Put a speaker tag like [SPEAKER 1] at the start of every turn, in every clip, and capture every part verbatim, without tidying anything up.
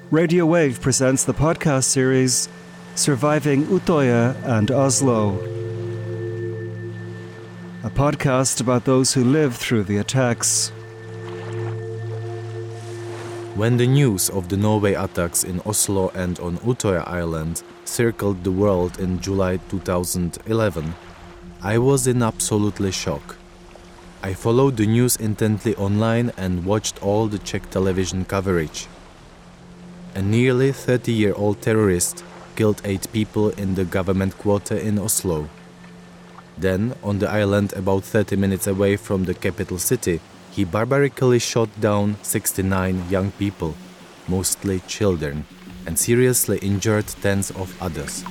[SPEAKER 1] Radio Wave presents the podcast series Surviving Utøya and Oslo, a podcast about those who lived through the attacks.
[SPEAKER 2] When the news of the Norway attacks in Oslo and on Utøya Island circled the world in July two thousand eleven, I was in absolutely shock. I followed the news intently online and watched all the Czech television coverage. A nearly thirty-year-old terrorist killed eight people in the government quarter in Oslo. Then, on the island about thirty minutes away from the capital city, he barbarically shot down sixty-nine young people, mostly children, and seriously injured tens of others.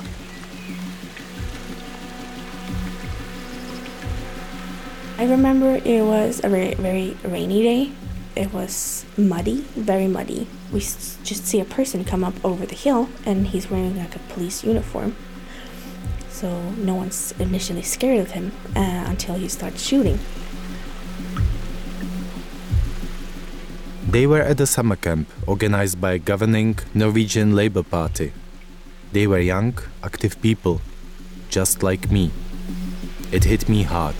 [SPEAKER 3] I remember it was a very, very rainy day. It was muddy, very muddy. We s- just see a person come up over the hill and he's wearing like a police uniform. So no one's initially scared of him uh, until he starts shooting.
[SPEAKER 2] They were at a summer camp organized by governing Norwegian Labour Party. They were young, active people, just like me. It hit me hard.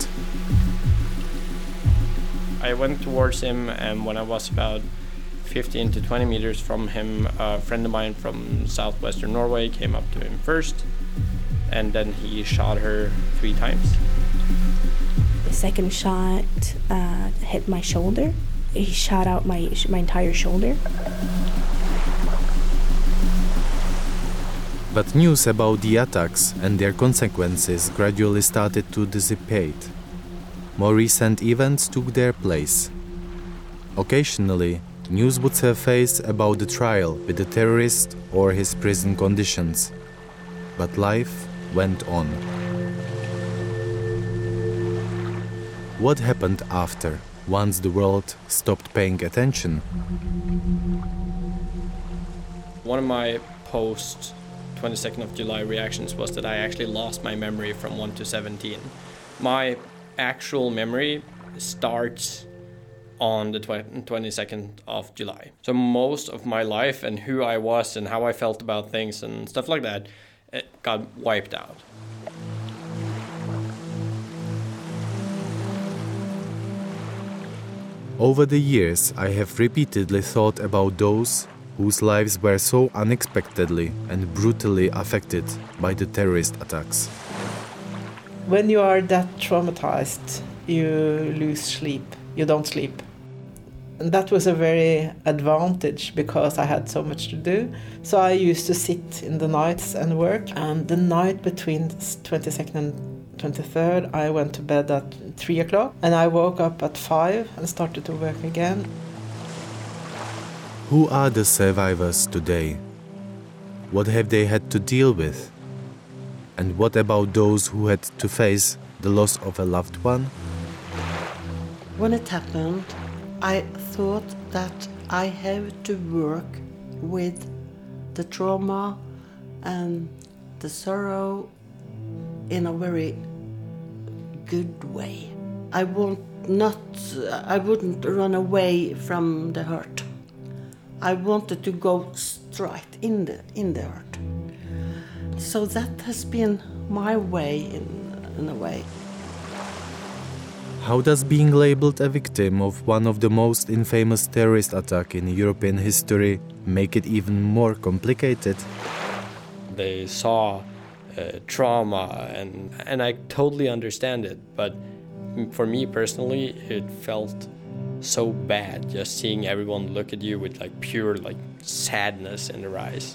[SPEAKER 4] I went towards him, and when I was about fifteen to twenty meters from him, a friend of mine from southwestern Norway came up to him first, and then he shot her three times.
[SPEAKER 3] The second shot uh, hit my shoulder. He shot out my my entire shoulder.
[SPEAKER 2] But news about the attacks and their consequences gradually started to dissipate. More recent events took their place. Occasionally, news would surface about the trial with the terrorist or his prison conditions. But life went on. What happened after, once the world stopped paying attention?
[SPEAKER 4] One of my post twenty-second of July reactions was that I actually lost my memory from one to seventeen. My actual memory starts on the twenty-second of July. So most of my life and who I was and how I felt about things and stuff like that, it got wiped out.
[SPEAKER 2] Over the years, I have repeatedly thought about those whose lives were so unexpectedly and brutally affected by the terrorist attacks.
[SPEAKER 5] When you are that traumatized, you lose sleep. You don't sleep. And that was a very advantage because I had so much to do. So I used to sit in the nights and work. And the night between twenty-second and twenty-third, I went to bed at three o'clock. And I woke up at five and started to work again.
[SPEAKER 2] Who are the survivors today? What have they had to deal with? And what about those who had to face the loss of a loved one?
[SPEAKER 6] When it happened, I thought that I have to work with the trauma and the sorrow in a very good way. I won't not, I wouldn't run away from the hurt. I wanted to go straight in the in the hurt. So that has been my way in, in a way.
[SPEAKER 2] How does being labeled a victim of one of the most infamous terrorist attacks in European history make it even more complicated?
[SPEAKER 4] They saw uh, trauma, and and I totally understand it, but for me personally, it felt so bad just seeing everyone look at you with like pure like sadness in their eyes.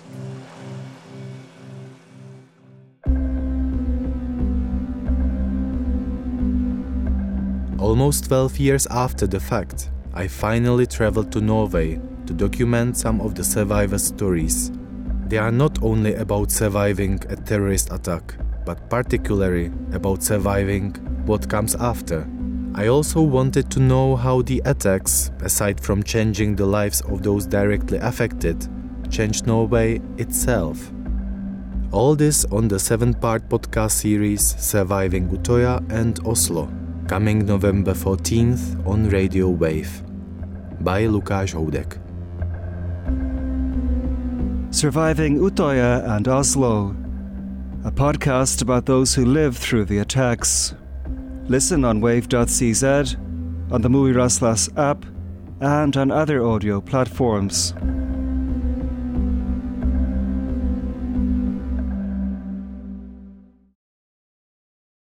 [SPEAKER 2] Almost twelve years after the fact, I finally traveled to Norway to document some of the survivors' stories. They are not only about surviving a terrorist attack, but particularly about surviving what comes after. I also wanted to know how the attacks, aside from changing the lives of those directly affected, changed Norway itself. All this on the seven-part podcast series Surviving Utøya and Oslo, coming November fourteenth on Radio Wave, by Lukáš Houdek.
[SPEAKER 1] Surviving Utøya and Oslo, a podcast about those who lived through the attacks. Listen on wave dot c z, on the Movie Raslas app, and on other audio platforms.